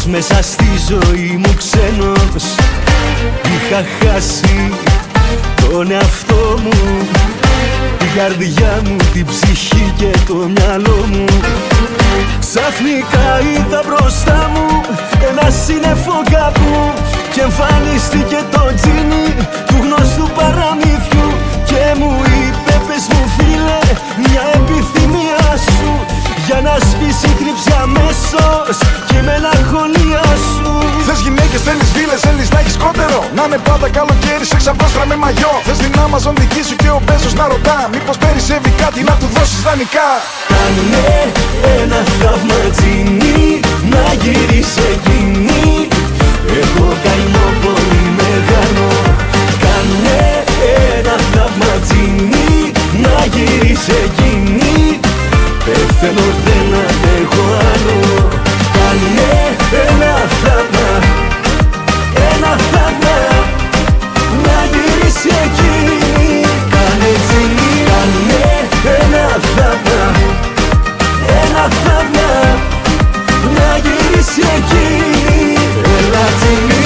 μέσα στη ζωή μου ξένος είχα χάσει τον εαυτό μου, την καρδιά μου, την ψυχή και το μυαλό μου. Ξαφνικά είδα μπροστά μου ένα σύννεφο κάπου και εμφανίστηκε το τζίνι του γνωστού παραμύθιου και μου είπε πες μου φίλε μια επιθυμία σου για να σβήσει η θλίψη αμέσως και η μελαγχολία σου. Θες γυναίκες, θέλεις φίλες, θέλεις να έχεις κότερο, να είναι πάντα καλοκαίρι σε ξαπόστρα με μαγιό. Θες την Amazon δική σου και ο Μπέζος να ρωτά μήπως περισσεύει κάτι να του δώσεις δανεικά. Κάνε ένα θαύμα τζίνι να γυρίσει εκείνη, έχω καημό πολύ μεγάλο. Κάνε ένα θαύμα τζίνι να γυρίσει εκείνη, πεθαίνω δεν αντέχω άλλο. Κάνε ένα θαύμα, ένα θαύμα να γυρίσει εκείνη. Κάνε τζίνι, κάνε ένα θαύμα, ένα θαύμα να γυρίσει εκείνη. Έλα τζίνι.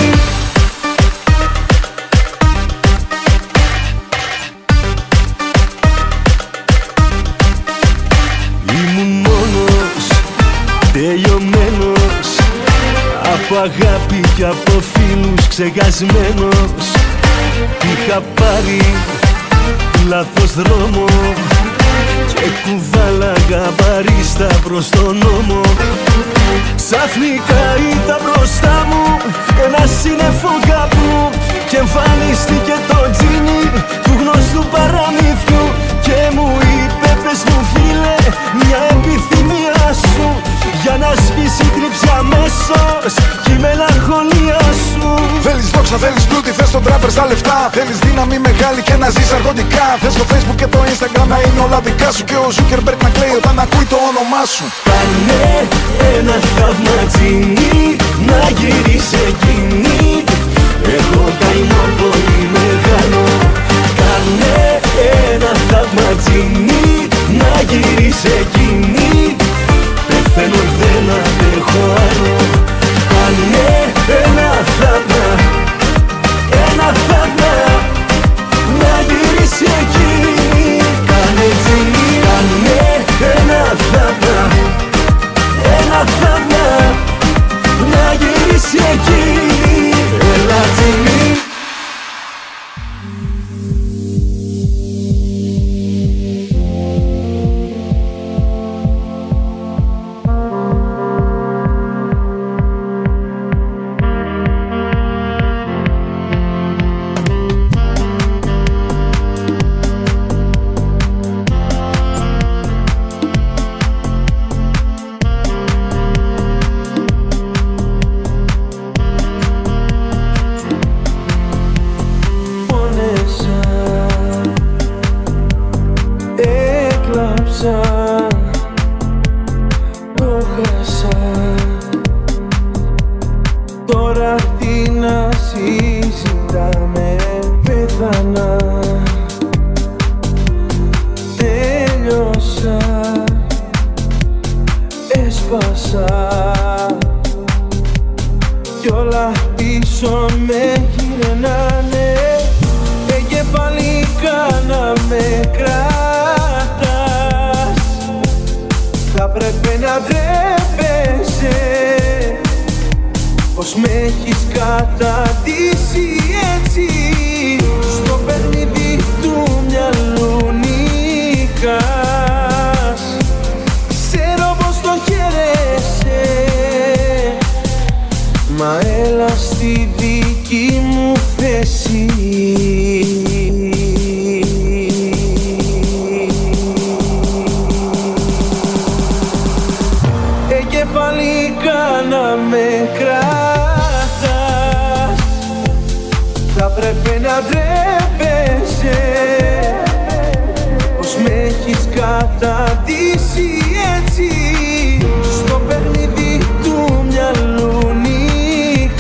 Τελειωμένος από αγάπη και από φίλους ξεχασμένος, είχα πάρει λάθος δρόμο και κουβάλαγα παρίστα προς τον νόμο. Ξαφνικά είδα μπροστά μου ένα σύννεφο κάπου και εμφανίστηκε το τζίνι του γνωστού παραμύθιου και μου είπε πες μου φίλε μια επιθυμία σου για να σβήσει η θλίψη αμέσως και η μελαγχολία σου. Θέλεις δόξα, θέλεις πλούτη, θες τον τράπερ στα λεφτά. Θέλεις δύναμη μεγάλη και να ζεις αρχοντικά. Θες το Facebook και το Instagram να είναι όλα δικά σου και ο Zuckerberg να κλαίει όταν ακούει το όνομά σου. Κάνε ένα θαύμα τζίνι να γυρίσει εκείνη, έχω καημό πολύ μεγάλο. Κάνε ένα θαύμα τζίνι να γυρίσει εκείνη, πεθαίνω δεν αντέχω άλλο. Κάνε ένα θαύμα, ένα θαύμα να γυρίσει εκείνη. Κάνε τζίνι, κάνε ένα θαύμα, ένα θαύμα να γυρίσει εκείνη. Έλα τζίνι. Τώρα τι να συζητάμε, πέθανα, τέλειωσα, έσπασα κι όλα πίσω με γυρνάνε. Εγκεφαλικά να με κρατάς, θα πρέπει να ντρέπεσαι πως με έχεις καταντήσει έτσι. Στο παιχνίδι του μυαλού νικάς, ξέρω πως το χαίρεσαι, μα έλα στη δική μου θέση. Εγκεφαλικά να με κρατάς, θα πρέπει να ντρέπεσαι πως με έχεις καταντήσει έτσι. Στο παιχνίδι του μυαλού νικάς,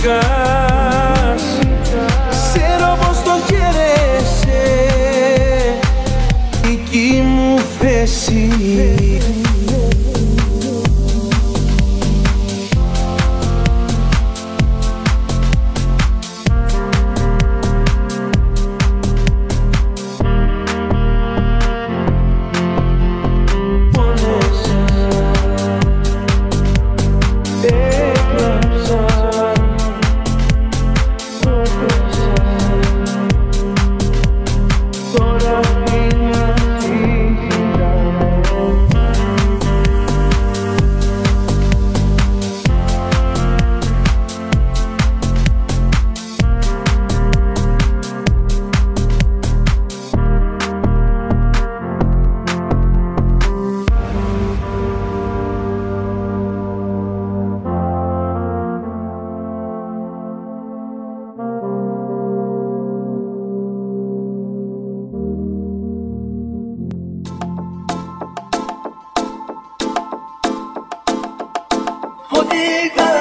είχα.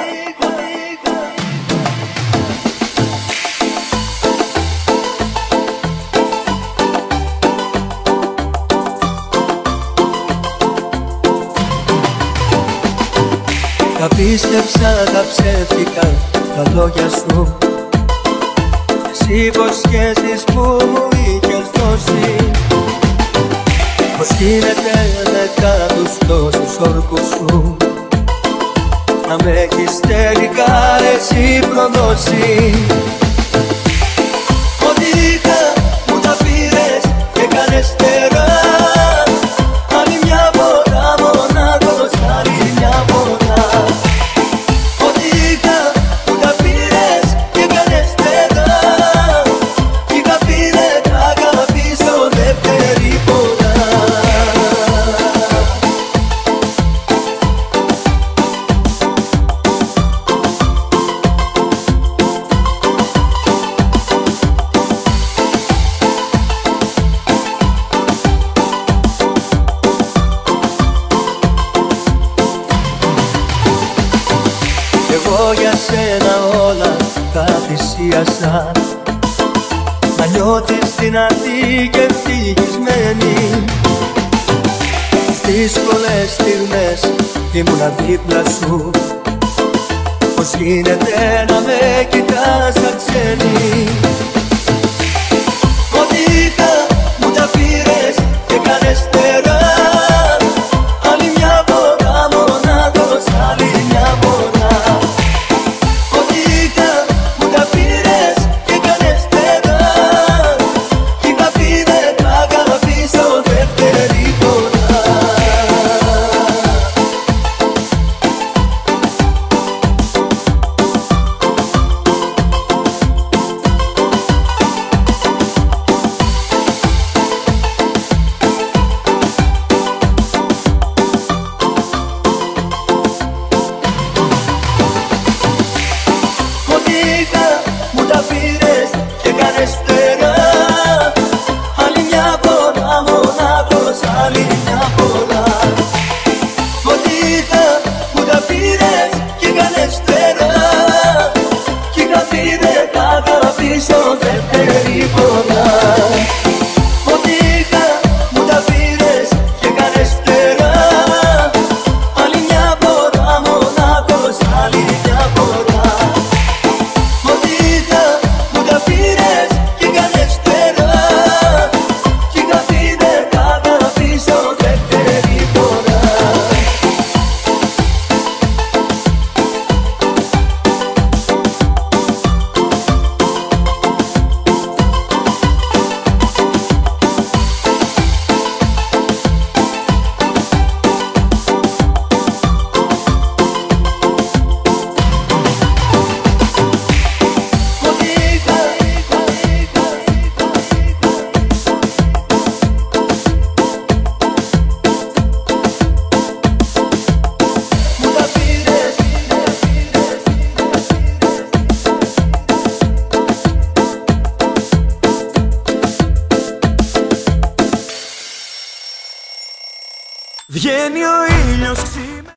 Τα πίστεψα τα ψεύτικα τα λόγια σου, τις υποσχέσεις που μου είχες δώσει. Πώς γίνεται μετά τους τόσους όρκους σου να με έχεις τελικά εσύ προδώσει. Ό,τι είχα μου τα πήρες και κάνες τερά. Άλλη μια φορά μονάχος, άλλη μια φορά. Ό,τι είχα μου τα πήρες και κάνες τερά. Κι είχα πει δεν τα αγαπήσω δεύτερη φορά. Εγώ για σένα όλα τα θυσίασα, να νιώθεις δυνατή και ευτυχισμένη. Στις δύσκολες στιγμές ήμουνα δίπλα σου. Πώς γίνεται να με κοιτάς σαν ξένη. Ό,τι είχα μου τα πήρες και κάνες τερά. Άλλη μια φορά μονάχος, άλλη μια φορά. Ό,τι είχα μου τα πήρες και κάνες τερά. Κι είχα πει δεν τα αγαπήσω δεύτερη φορά. Ό,τι είχα μου τα πήρες και κάνες τερά. Άλλη μια φορά μονάχος, άλλη μια φορά. Ό,τι είχα μου τα πήρες και κάνες τερά. Κι είχα πει δεν τα αγαπήσω δεύτερη φορά. Ό,τι είχα μου τα πήρες και κάνες τερά. Άλλη μια φορά μονάχος, άλλη μια φορά. Ό,τι είχα μου τα πήρες και κάνες τερά. Κι είχα πει δεν τα αγαπήσω δεύτερη φορά. Βγαίνει ο ήλιος ξημερώνει.